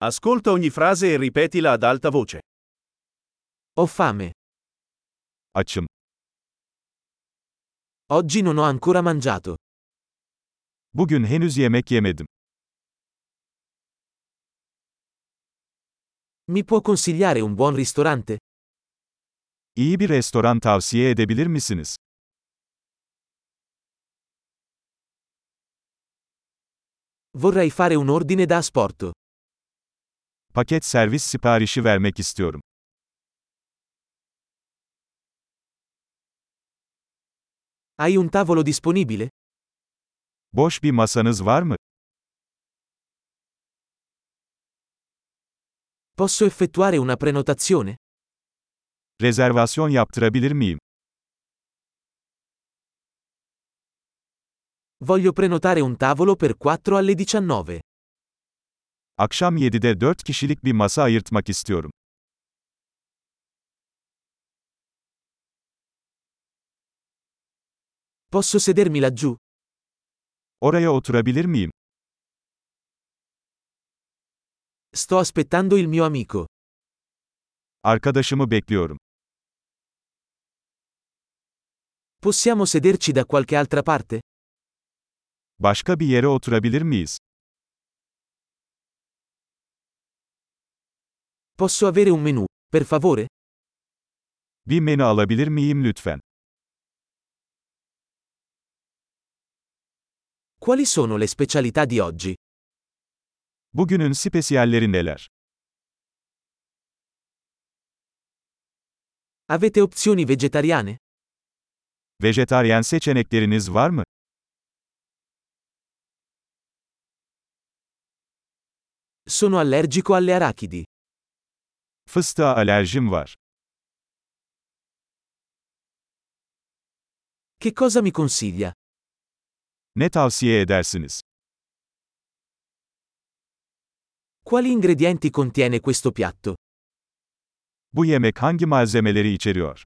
Ascolta ogni frase e ripetila ad alta voce. Ho fame. Açım. Oggi non ho ancora mangiato. Bugün henüz yemek yemedim. Mi può consigliare un buon ristorante? İyi bir restoran tavsiye edebilir misiniz? Vorrei fare un ordine da asporto. Paket servis siparişi vermek istiyorum. Hai un tavolo disponibile? Boş bir masanız var mı? Posso effettuare una prenotazione? Rezervasyon yaptırabilir miyim? Voglio prenotare un tavolo per 4 alle 19. Akşam 7'de 4 kişilik bir masa ayırtmak istiyorum. Posso sedermi laggiù? Oraya oturabilir miyim? Sto aspettando il mio amico. Arkadaşımı bekliyorum. Possiamo sederci da qualche altra parte? Başka bir yere oturabilir miyiz? Posso avere un menù, per favore? Bir menü alabilir miyim lütfen? Quali sono le specialità di oggi? Bugünün spesiyalleri neler? Avete opzioni vegetariane? Vejetaryen seçenekleriniz var mı? Sono allergico alle arachidi. Fıstığa alerjim var. Che cosa mi consiglia? Ne tavsiye edersiniz? Quali ingredienti contiene questo piatto? Bu yemek hangi malzemeleri içeriyor?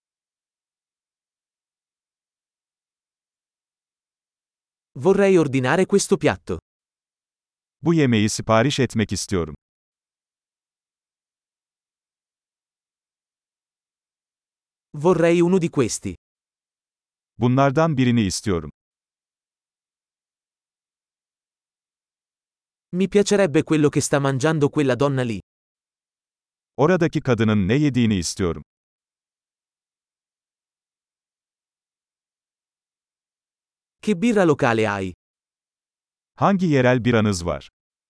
Vorrei ordinare questo piatto. Bu yemeği sipariş etmek istiyorum. Vorrei uno di questi. Bunlardan birini istiyorum. Mi piacerebbe quello che sta mangiando quella donna lì. Oradaki kadının ne yediğini istiyorum. Che birra locale hai? Hangi yerel biranız var?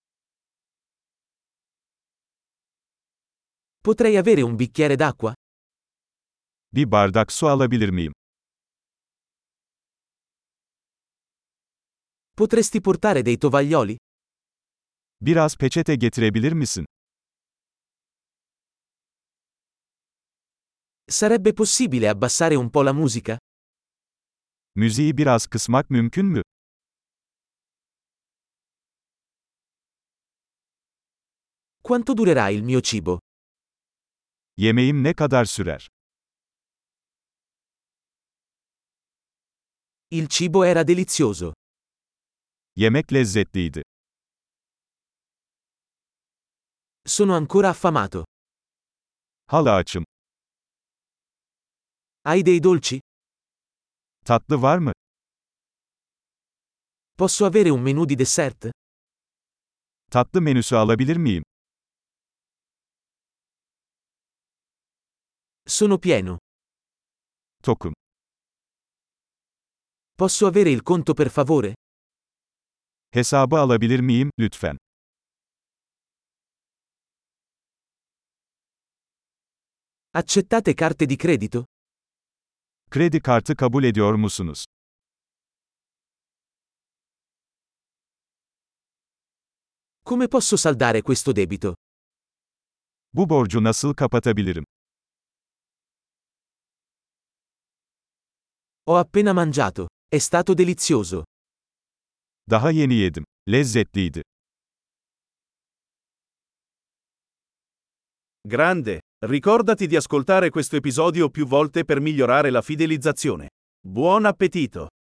Potrei avere un bicchiere d'acqua? Bir bardak su alabilir miyim? Potresti portare dei tovaglioli? Biraz peçete getirebilir misin? Sarebbe possibile abbassare un po' la musica? Müziği biraz kısmak mümkün mü? Quanto durerà il mio cibo? Yemeğim ne kadar sürer? Il cibo era delizioso. Yemek lezzetliydi. Sono ancora affamato. Hala açım. Hai dei dolci? Tatlı var mı? Posso avere un menù di dessert? Tatlı menüsü alabilir miyim? Sono pieno. Tokum. Posso avere il conto per favore? Hesabı alabilir miyim, lütfen? Accettate carte di credito? Kredi kartı kabul ediyor musunuz? Come posso saldare questo debito? Bu borcu nasıl kapatabilirim? Ho appena mangiato. È stato delizioso. Daha yeni yedim. Lezzetliydi. Grande! Ricordati di ascoltare questo episodio più volte per migliorare la fidelizzazione. Buon appetito!